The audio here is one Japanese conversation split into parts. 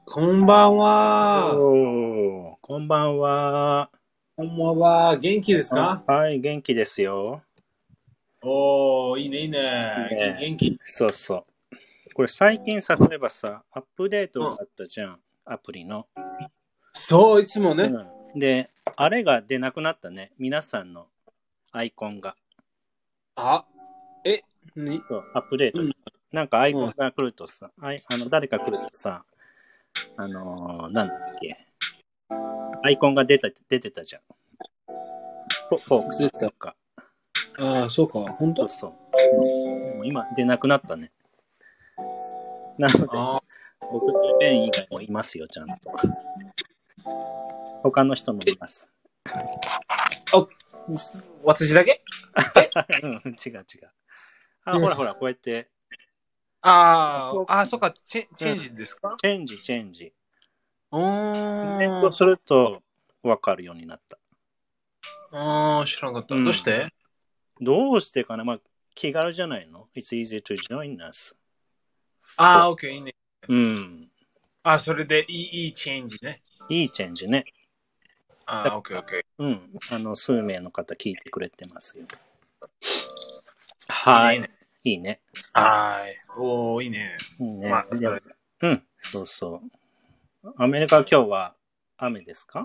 こんばんは。 こんばんは。 こんばんは。元気ですか？ はい、元気ですよ。 おー、いいね、いいね。 ね元気。 そうそう。これ最近さ、例えばさ、アップデートうん。 があったじゃん。アプリの。 そう、いつもね。 で、あれが出なくなったね。皆さんのアイコンが。 あ、え、に、 そう、アップデート。 うん、 なんかアイうん。 コンが来るとさ、誰か来るとさ、なんだっけ。アイコンが出てたじゃん。フォークさん出た。 とか。 ああ、そうか。本当？ そうそう。でも今出なくなったね。なので、 あ僕とベン以外もいますよ、ちゃんと。他の人もいます。 あ、私だけ？ うん、違う違う。 違う違う。 ほらほら、こうやって、 そうか。チうん、 ェンジですか？ チェンジ。 うコメンーん、 トすると分かるようになった。 知らなかった。どうしうん。 て？ どうしてかな、まあ、気軽じゃないの？ It's easy to join us. オッケー、いいね。 うん。 それでいいチェンジね。 いいチェンジね。 オッケー、オッケうん。数名の方聞いてくれてますよ。 ー。いいね、 はい。 いいね。 いいね。 いいね。 いいね。 まあ、それ。 うん。そうそう。アメリカは今日は雨ですか？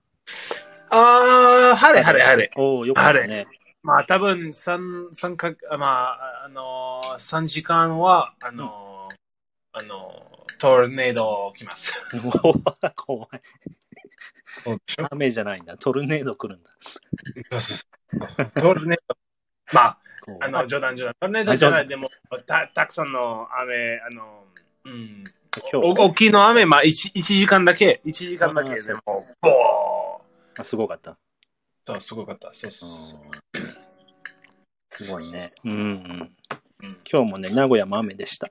晴れ。 おお、よかっ晴れ。 たね。 まあ、多分、3時間は、 うん。 トルネード来ます。 怖い。 そうでしょ？ 雨じゃないんだ。トルネード来るんだ。 そう。トルネード。まあ、 怖い。 冗談。トルネードあ、 じゃない。 冗談。 でも、たくさんの雨、うん。 今日大きいの雨、まあ、1時間だけ。1時間だけそう。 でも、ボー。 すごかった。 そう、すごかった。そう。 すごいね。うん。 うん、 今日もね、名古屋も雨でした。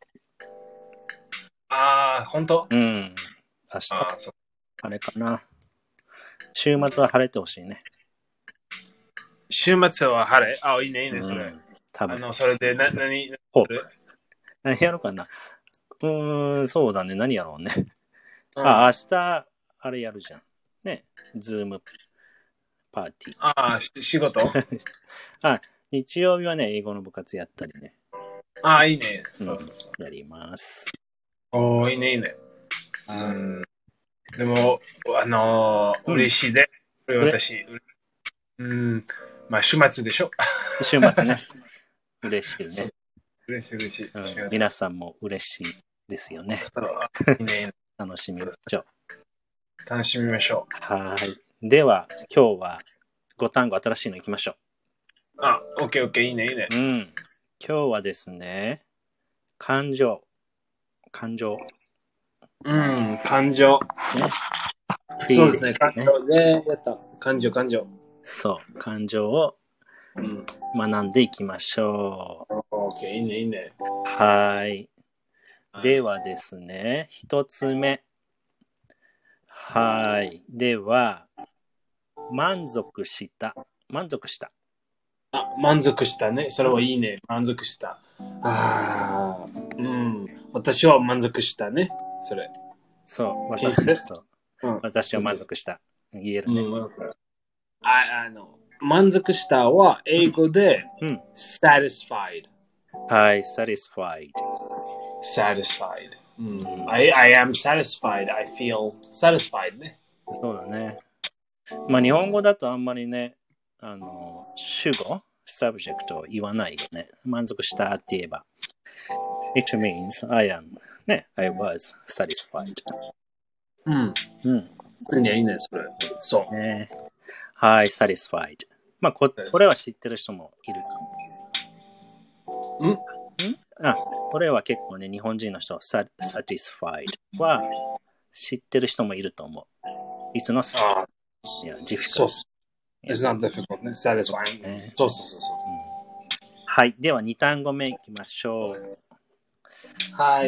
本当？ うん。明日、 そう。 晴れかな。週末は晴れてほしいね。 週末は晴れ。いいね、それ。 うん。多分。 それで、何する？ 何やろうかな。そうだね。何やろうね。 うん。 明日、あれやるじゃん。ね。ズームパーティ仕事？ ー。日曜日はね、英語の部活やったりね。 いいね。 うん。 そう。 やります。 いいね。うん。でも、 うん。 嬉しいで。 これ、 私。うん。まあ、週末でしょ？ 週末ね。嬉しいそう。 ね。 嬉しい。 うん。皆さんも嬉しいですよね。 そう。いいね。 楽しみましょう。 楽しみましょう。 はい。では、今日は5単語新しいのいきましょオッケー、いいね。 う。うん。今日はですね、感情。感情。 うん、感情。 ね。 そうですね、 feeling 感ね。 情で、やった。感情。 そう。感情をうん。 学んでいきましょオッケー、いいね。 う。はい。ではですね、一つ目。はい。では、満足した。満足した。 満足したね。それはいいね。満足した。うん。私は満足したね。それ。 そう。 聞いて。 そう。 うん。 私は満足した。言えるね。 うん。満足したは英語で、 うん。 satisfied。 はい。satisfied。 satisfied。I am satisfied. I feel satisfied ね。 そうだね。まあ日本語だとあんまりね、主語、subject を言わないよね。満足したって言えば。It means I am, ね、I was satisfied。 うん。 うん。 いいね、それ。そう。 ね。はい、satisfied。まあこれは知ってる人もいるかも。これは結構ね、日本人の人、satisfied は知ってる人もいると思う。It's not difficult. そう。It's not difficult ね。satisfying。そう。 はい。では2単語目いきましょう。 はい。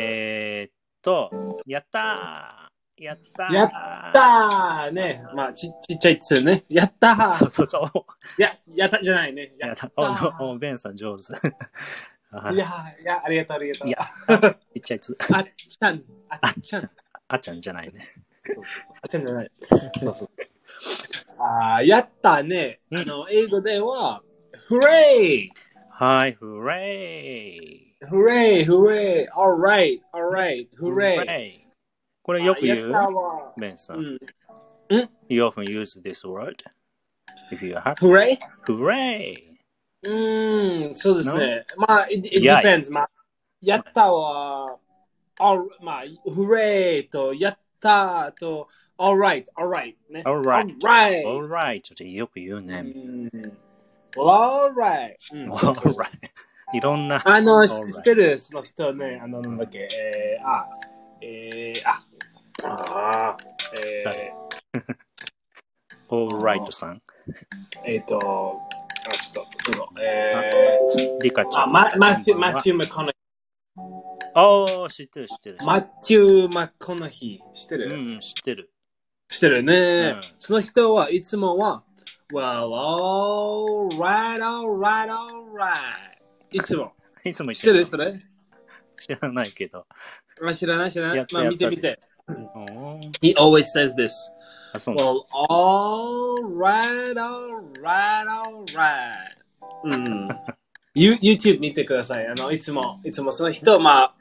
やったーやったーね。まあ、ちっちゃいつね。やったーそう。 やったじゃないね。 やった。ベンさん上手。 いや、ありがとう、ありがとう。 いや、ちっちゃいつ。 あっちゃん、あっちゃん。 あっちゃんじゃないね。 あっちゃんじゃない。そうそう。やったね。英語では、フレイはい、フレイ。 フレイ、フレイ、alright, alright, フレイ。 これよく言うやったわ。 ベンさん。 うん。 You often use this word if you have. フレイフレイ。 そうですね。まあ、it depends. まあ、やったは、まあ、フレイと、やったと、alright, alright ね。 alright. alright. alright ってよく言うね。 alright. いろんな。 知ってる、その人ね、なんだっけ、 alright さん。 ちょっと、 リカちゃん。 マシュー・マコナヒー。知ってる。 マシュー・マコナヒ知ってる知ってる。 知ってるね。その人はいつもは、Well, alright. いつも。 いつも知ってるそれ知らないけど。 知らない。まあ見てみて。He always says this. Well, alright. YouTube 見てください。いつもその人、まあ、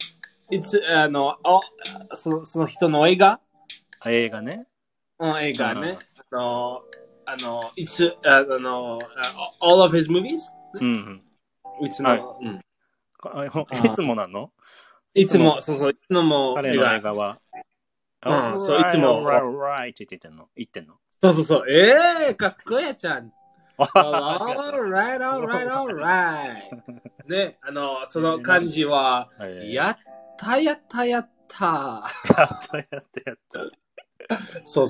その人の映画映画ね。 映画ね。all of his movies? いつもなのいつも、そう、いつも彼の映画は。 そう、いつも。 right って言ってんのそう。かっこいいちゃん。alright. ね、その感じは、やった。そう。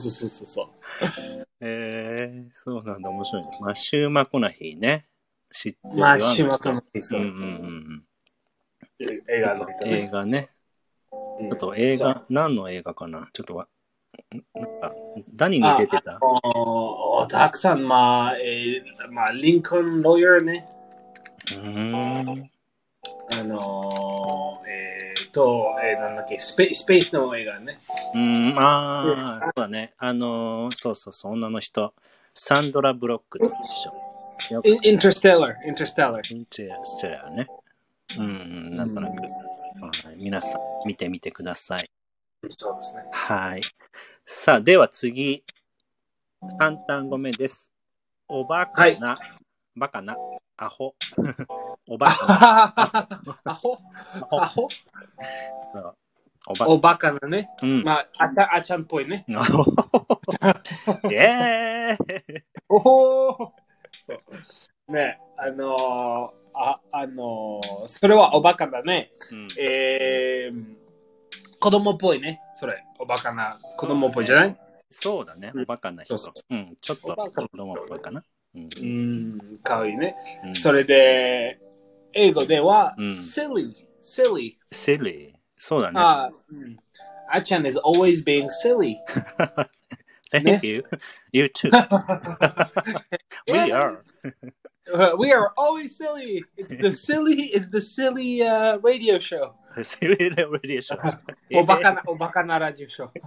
そうなんだ、面白いね。マシュー・マコナヒーね。知ってるよ。 マシュー・マコナヒー、そう。映画の人ね。 映画ね。ちょっと映画、何の映画かなちょっとなんか、何に出てたたくさん、まあ、リンコン・ロイヤーね。なんだっけ、スペースの映画ね。 そうだね。そう、女の人。サンドラ・ブロックと一緒。 インターステラーね。なんとなく。皆さん、見てみてください。 そうですね。 はい。さあ、では次。3単語目です。おバカな、バカな、アホ。おバカな。 アホそうおバカなね。まあ、あちゃんっぽいね。そうね、それはおバカだね。子供っぽいね。それ、おバカな子供っぽいじゃない？ そうだね、おバカな人。ちょっと子供っぽいかな。 かわいいね。それで、英語では、silly。 そうだね。 あちゃん is always being silly. Thank you. You too. We are. We are always silly. It's the silly radio show. Silly radio show. おバカなラジオショー。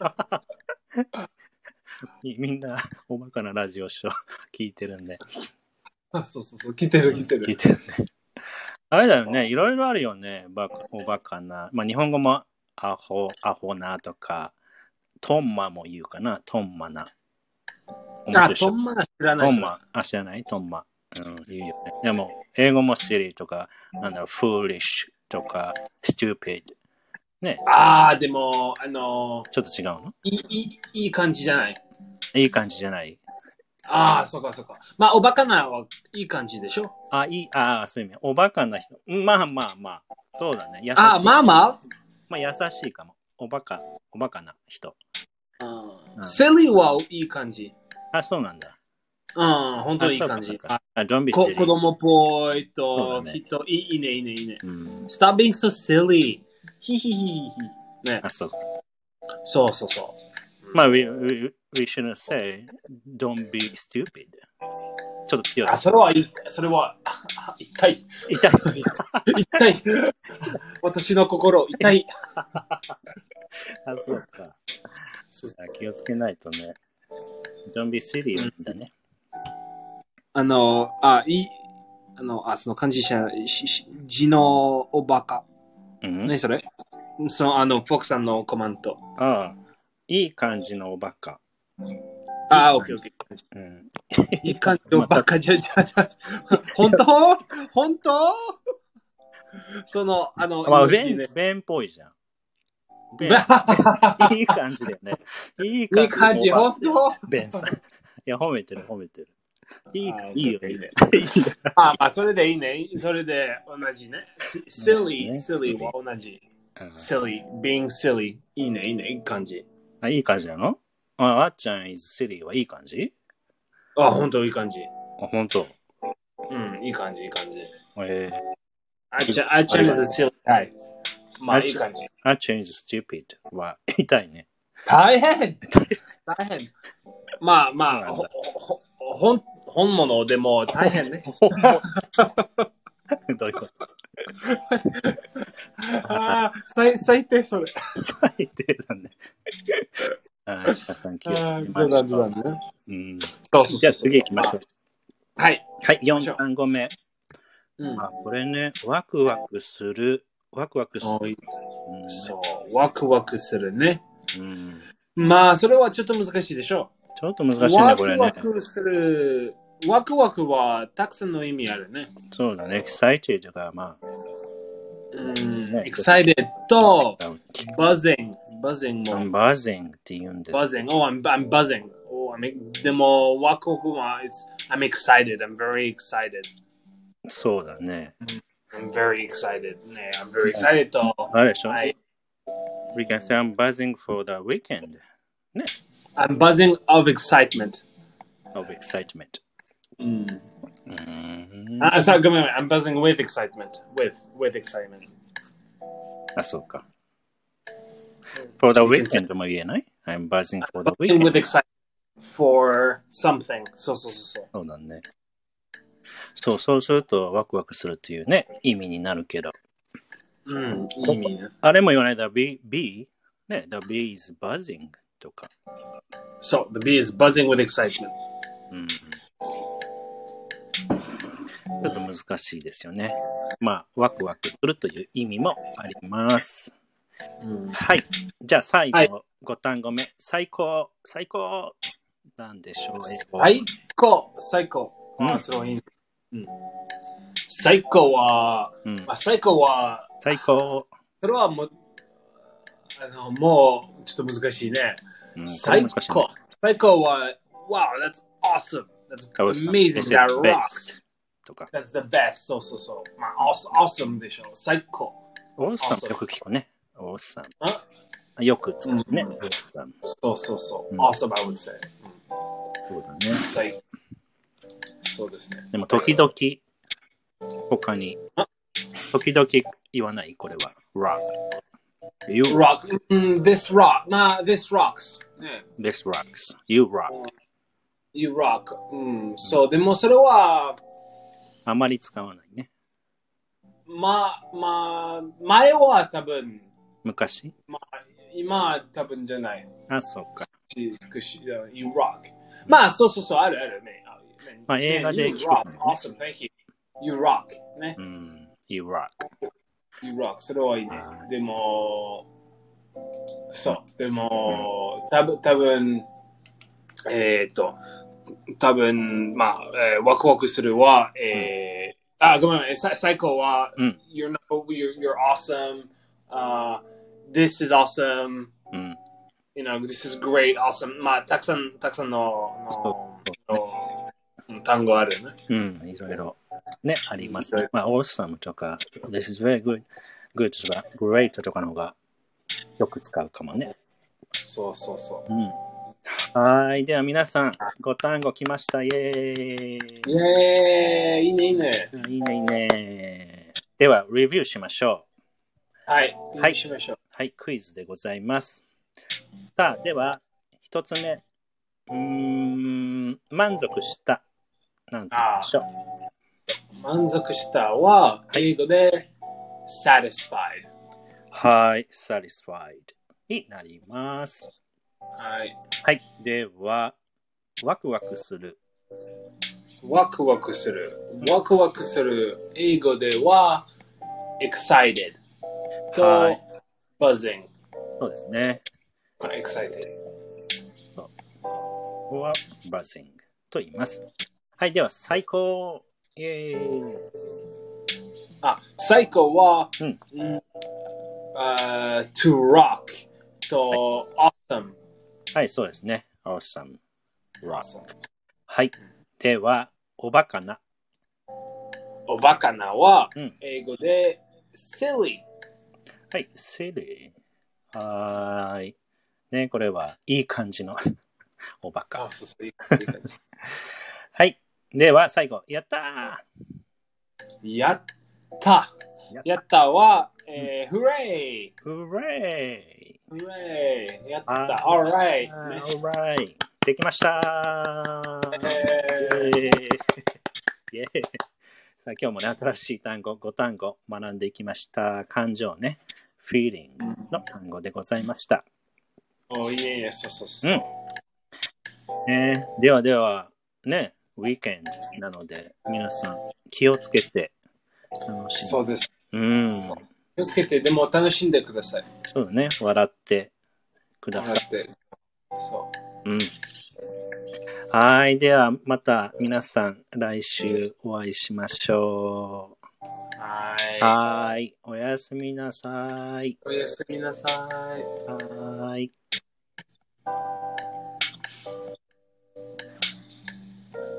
みんなおバカなラジオショー聞いてるんで。 そう。聞いてる。 聞いてるね。あれだよね。いろいろあるよね。おバカな。まあ日本語もアホなとか、トンマも言うかな。トンマな。 トンマ知らない。 知らないトンマ。言うよね。でも、英語も silly とか、foolish とか、stupid。ね。 でも、 ちょっと違うの？ いい感じじゃない。 いい感じじゃない。 そうか。まあ、おバカなはいい感じでしょ？ そういう意味。おバカな人。まあ。そうだね。優しい。 まあ、 優しいかも。おバカな人。 silly はいい感じ。 そうなんだ。 本当にいい感じ。 Don't be silly. 子供っぽいと、人、いいね。Stop being so silly. ね。 そう。 そう。 まあ、we shouldn't say, don't be stupid. ちょっと強い。 それは痛い。 痛い。 痛い。私の心、痛い。 そうか。気をつけないとね。Don't be silly だね。 その漢字者、字のおバカ。何それ？フォークさんのコマント。 いい感じのおバカ。 オッケー。いい感じのバカじゃ。本当弁っぽいじゃん。いい感じだよね。いい感じ。本当弁さん。いや、褒めてる。いいよ。 それでいいね。それで同じね。silly は同じ。silly, being silly. いいね、いい感じ。 いい感じなの？あっちゃん is silly はいい感じ？ 本当いい感じ。 本当？ いい感じ。 あっちゃん is a silly guy。まあ、いい感じ。 あっちゃん is stupid は痛いね。 大変。まあ、本物でも大変ね。 どういうこと？ 最低それ。 最低だね。皆さん気をつけましょう。じゃあ次行きましょう。 はい、 4単語目。これね、ワクワクする。 そう、ワクワクするね。まあ、それはちょっと難しいでしょう。 ちょっと難しいね、これね。 ワクワクする。ワクワクはたくさんの意味あるね。 そうだね、excited がまあ。 excited と buzzing も。 I'm buzzing って言うんです。 buzzing. I'm buzzing. でも、ワクワクは、I'm excited. I'm very excited. そうだね。 I'm very excited. ね、I'm very excited と。 あれでしょ？We can say I'm buzzing for the weekend. ね。 I'm buzzing of excitement. Of excitement. ごめん。I'm buzzing with excitement. With excitement. そうか。For the weekend も言えない？ I'm buzzing for the weekend. With excitement for something. そう。 そうだね。そうするとワクワクするというね、意味になるけど。 意味ね。 あれも言わないだ、bee ね、the bee is buzzing とか。 そう、the bee is buzzing with excitement. ちょっと難しいですよね。まあ、ワクワクするという意味もあります。はい。じゃあ最後、5単語目。最高なんでしょう。 最高。それはいいね。最高は、それはもうちょっと難しいね。最高は、wow, that's awesome. That's amazing. That rocks. That's the best. そう。まあ、awesome でしょ。最高。 awesome よく聞くね。awesome。よく使うね。 そう。awesome, I would say. そうだね。 そうですね。 でも時々他に時々言わないこれは rock this rock this rocks this rocks you rock そうでもそれはあまり使わないね。 まあ前は多分昔今は多分じゃない。 そうか。 you rock まあそうあるね。 まあ映画で聞く、 ね。Awesome, thank you. You rock. ね。 You rock. You rock. それはいいね。でも、多分、まあ、ワクワクするは、ごめん、最高は、you're awesome. This is awesome. You know, this is great, awesome. まあ、たくさんの単語あるね。 いろいろね、ありますね。まあ、awesome とか、this is very good とか、great とかの方がよく使うかもね。 そう。 はい。では皆さん、5単語来ました。イェーイ。 いいね。 いいね。では、レビューしましょう。はい。しましょう。 はい、クイズでございます。さあ、では、1つ目。満足した。 なんて言いましょう。 満足したは、英語で satisfied。 はい、satisfied になります。 はい。 はい。では、ワクワクする。 ワクワクする。ワクワクする。英語では excited と buzzing。 そうですね。 excited。 そう。ここは buzzing と言います。はい。では、最高。イェーイ。 最高は、to rock と awesome。 はい、そうですね。awesome。 awesome。 はい。では、おバカな。 おバカなは、英語で silly。 はい、silly。はい。ね、これはいい感じのおバカ。 いい感じ。 はい。では、最後。やったー。やったは、hooray! Hooray! Hooray! やった。Alright! Alright! できましたさあ、今日もね、新しい単語、5単語学んでいきました。感情ね、feeling の単語でございました。 いいね、そう。 では、ね、ウィーケンドなので、皆さん気をつけて楽しんで。 そうです。気をつけて、でも楽しんでください。 そうだね、笑ってください。 そう。 はい、ではまた皆さん来週お会いしましょう。はい、おやすみなさい。 おやすみなさい。 はい。